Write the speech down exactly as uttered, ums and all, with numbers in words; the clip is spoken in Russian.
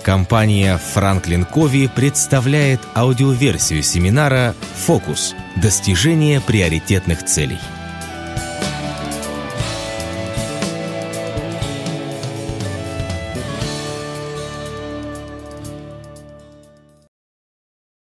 Компания Franklin Covey представляет аудиоверсию семинара «Фокус. Достижение приоритетных целей».